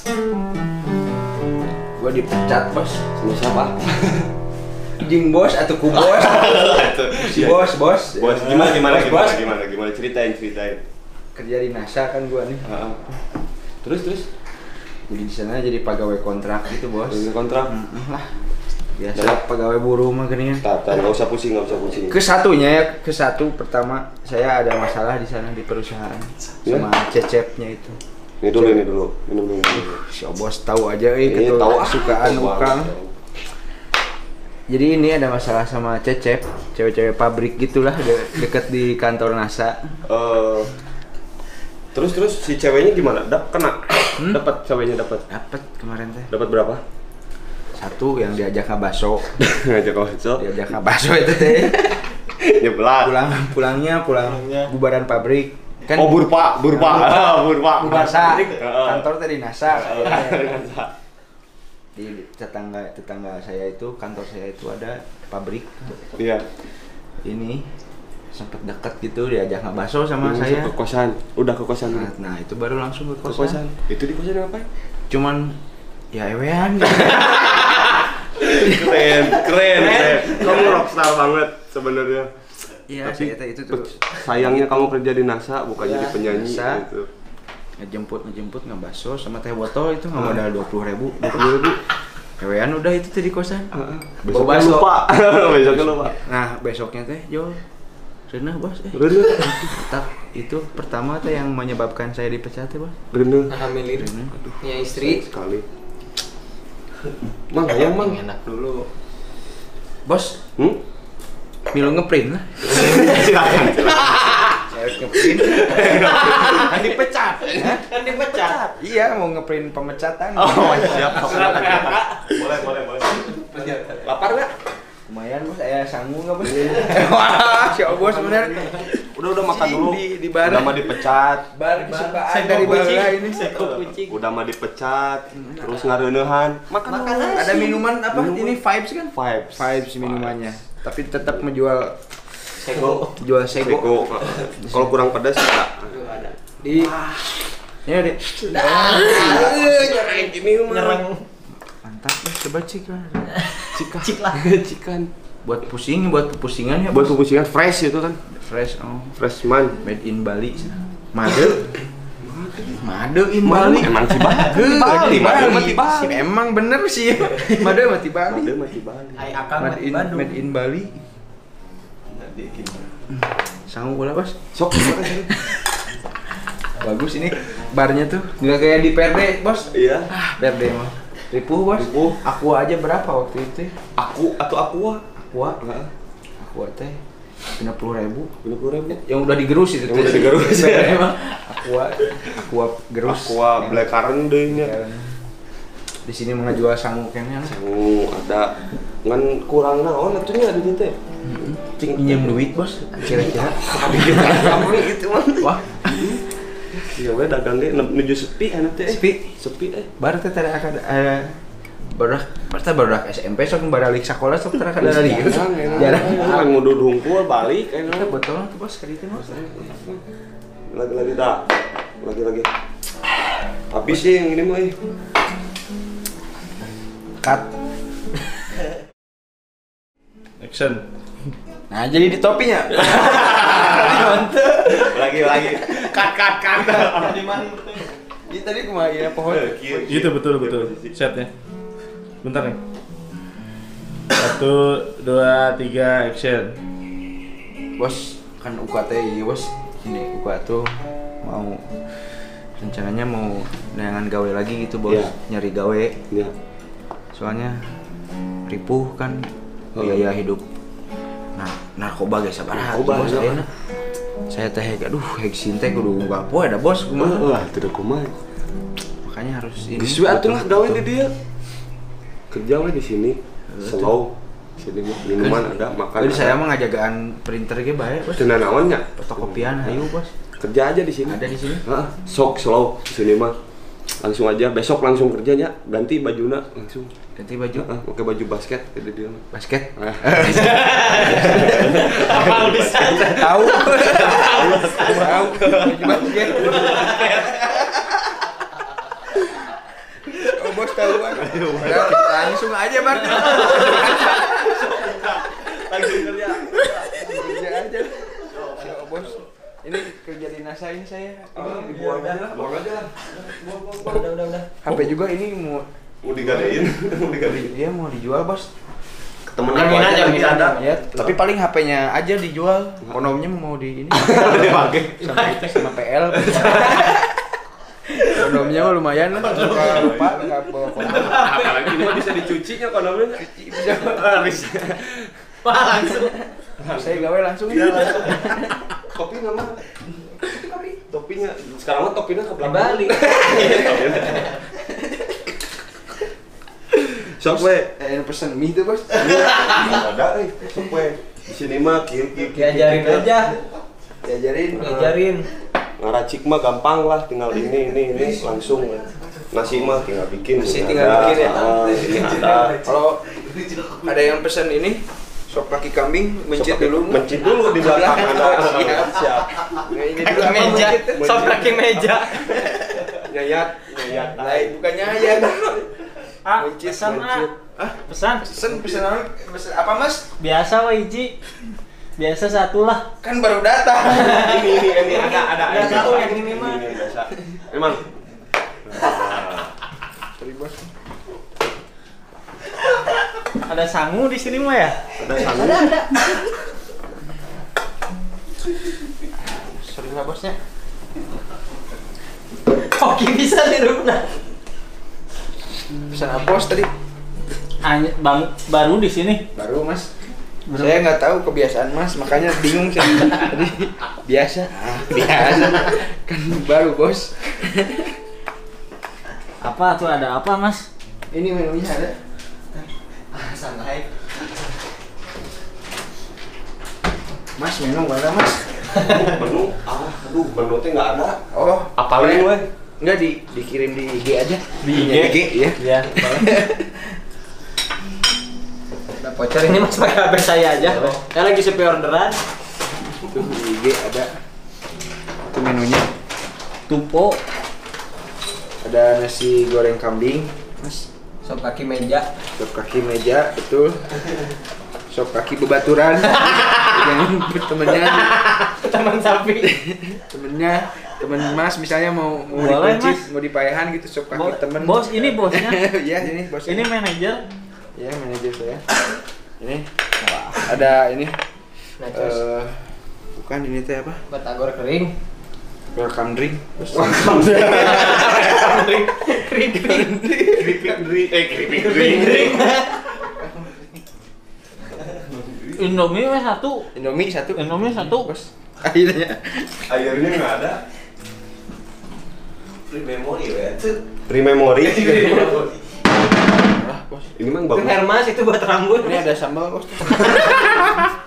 Gua dipecat bos. Sama siapa? Jing bos atau ku bos? Si bos. Bos, gimana Bos. ceritain. Kerja di NASA kan gua nih. Terus Jadi di sana jadi pegawai kontrak gitu bos. ini kontrak. Lah. Biasa pegawai buruh mah gini kan. Enggak usah pusing. Ke satu pertama saya ada masalah di sana di perusahaan sama cecepnya itu. Ini dulu. Minum dulu. Si bos tahu aja kesukaan Ukang. Jadi ini ada masalah sama Cecep, cewek-cewek pabrik gitulah deket di kantor NASA. Terus si ceweknya gimana? Kena? Dapat ceweknya dapat. Dapat kemarin teh. Dapat berapa? Satu yang diajak ngabaso. Ngajak ngabaso. Diajak ngabaso itu teh. Nyebelah. Pulang bubaran pabrik. Kan burpa. NASA. Kantor teh di NASA. Di tetangga saya itu, kantor saya itu ada pabrik. Iya. Ini sempat dekat gitu diajak ngabaso sama saya. Ke kosan. Udah ke kosan. Nah, itu baru langsung ke kosan. Itu di kosan apa? Cuman ya ewean. Keren. Kamu rockstar banget sebenarnya. Iya, itu tuh. Sayangnya kamu kerja di NASA bukan jadi penyanyi gitu. Ngejemput ngabaso sama teh botol itu nggak modal 20.000. Ewean udah itu tuh di kosan. Besoknya lupa. Nah, besoknya teh Jo Renah bos, itu pertama tuh yang menyebabkan saya dipecat ya bos. Renah. Alhamdulillah. Punya istri. Sekali. Mang, enak dulu. Bos. Milu ngeprint lah. Silakan. Saya ngeprint. Kan dipecat. Iya, mau ngeprint pemecatan. Oh, siap. Boleh. Lapar enggak? Lumayan bos, saya sanggup nggak bos? Wah, si bos bener. Udah makan dulu. Di bar. Udah mah dipecat. Bar kesukaan dari bala ini. Udah mah dipecat. Terus ngareunehan. Makan aja. Ada minuman apa? Ini vibes kan? Vibes minumannya. Tapi tetap menjual Sego. sego. Kalau kurang pedas enggak? Ada. Ya deh. Nyerang gini mah. Mantap bos, coba cik lah. Cikan. Buat pusingan ya. Buat pupusingan fresh itu kan. Fresh, Freshman. made in Bali. Made in Bali. Emang si Bali. Emang bener sih. Made mati Bali. Ai akang Made in Bali. Sanggup bola bos. Sok. Bagus ini barnya tuh. Nggak kayak di Perde bos. Iya. Perde mah. Ripuh bos. Aqua aja berapa waktu itu? Aku atau aqua? Aqua teh 50.000. Yang udah digerus itu. Yang udah digerus. Emang aqua gerus. Aqua black currant deh nya. Di sini mengajual sangu kayaknya. Sangu ada ngan kurang naon atunya di dieu teh. Cing pinjam duit bos kira-kira. Kamu gitu mah. Wah. Iya we dagang ge nuju sepi anu teh. Sepi baru teh tadi akan baru SMP sok balik sekolah sok tara kada lagi. Jarang ngudud hungkul balik Kita botol tuh bos kali itu bos. Lagi dah. Lagi. Habis sih yang ini mah. Cut. Action. Nah, jadi di topinya. Lagi. Cut. Di mana? Ini tadi kemarin pohon. Itu betul setnya. Bentar nih. 1, 2, 3 action. Bos, kan UKT iya bos. Ini UKT tuh rencananya mau neangan gawe lagi gitu bos. Iya. Nyari gawe. Iya. Soalnya ripuh kan biaya hidup. Nah, narkoba guys, sabar bos ayeuna. Saya teh aduh heksin teh kudu enggak poe da bos kumaha. Wah, tidak kumaha. Makanya harus ini. Geus we atuh lah gawe di dieu. Kerja we di sini. Slow. Sini mah minuman ada, makan. Jadi saya mah ngajagaan printer ge bae bos. Cenah naon nya? Fotokopian hayu bos. Kerja aja di sini. Ada di sini. Heeh. Sok slow di sini mah. Langsung aja besok langsung kerjanya, ganti bajuna langsung. Ganti baju. Pakai baju basket gitu dia mah. Basket. Apa bisa? Tahu. Baju basket. berarti. Langsung kerja. Kerja aja. Si bos. Ini kerja dinas saya ini. Buang aja. Udah. HP juga ini mau Digadein. Iya mau dijual, Bos. Temen Angin aku aja, aja angin ada. Ya, tapi paling HP-nya aja dijual. Kondomnya mau di ini. Dipakai. sama PL. Kondomnya mah lumayan lah. Lupa enggak bawa kondom. Apalagi ini mah bisa dicucinya kondomnya. Bisa. Wah, langsung. Saya gawe langsung. Kopi nama. Topinya. Sekarang mah topinya ke belakang. Balik. Sok we. Pesen mie tuh, Bos. Ada sok we. Di sini mah kieu. Diajarin aja. Diajarin. Ngaracik mah gampang lah, tinggal ini langsung. Nasi mah tinggal bikin. Nasi ini tinggal ada, bikin ya. Ini ada. Kalau ada yang pesen ini sop kaki kambing, mencit dulu. Mencit dulu di belakang ada. Siap. Nah, ini dulu Kaki apa meja. mencit? Sop kaki meja. Nyayat. Lain bukannya aja. Mencit, Pesan mencit. Pesan. Pesen apa, Mas? Biasa Wiji. Biasa satu lah. Kan baru datang. Ini ada. Nggak tahu yang ini mah. Ini biasa. Emang. Sorry, Bos. Ada sangu di sini mah ya? Ada sangu. Ada. Sorry lah, Bosnya. Koki bisa di rumah. Pesan apa, Bos tadi? Baru di sini. Baru, Mas. Saya nggak tahu kebiasaan Mas, makanya bingung saya tadi. Biasa. Kan baru, Bos. Apa tuh, ada apa, Mas? Ini menunya ada. Santai. Mas, menu mana, Mas? Menu. Aduh, menu teh nggak ada. Oh, Apalin we. Enggak dikirim di IG aja. Di IG? IG ya. Iya. Udah voucher ini Mas pakai HP saya aja. Saya lagi sepi orderan. Tuh di IG ada. Itu menunya. Tupo. Ada nasi goreng kambing, Mas. Sop kaki meja. Sop kaki meja, betul. Sop kaki bebaturan. Yang temennya, Teman sapi. temen Mas misalnya mau Boleh, dikunci, Mas. mau dipayahan gitu sop kaki temen. Bos, ini bosnya. Iya, ini bosnya. Ini manajer. Iya, manajer saya. Ini ada ini bukan ini teh apa? Batagor kering. Welcome drink. Indomie weh satu. Indomie satu. Indomie satu. Bos. Akhirnya. Airnya nggak ada. Free memory. Lah, Bos. Ini mah Itu bagus. Hermas itu buat rambut. Ini ada sambal, Bos.